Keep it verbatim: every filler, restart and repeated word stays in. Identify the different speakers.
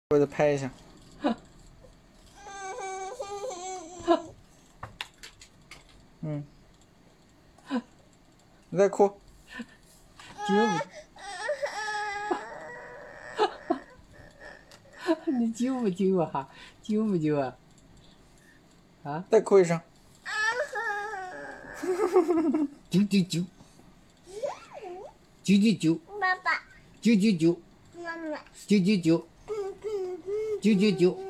Speaker 1: 我再拍一下。嗯，你在哭？
Speaker 2: 揪不？你揪不揪啊？揪不揪啊？啊？
Speaker 1: 再哭一声。
Speaker 2: 揪揪揪，揪揪揪，
Speaker 3: 爸爸，
Speaker 2: 揪揪揪，
Speaker 3: 妈妈，
Speaker 2: 揪揪揪，揪揪揪。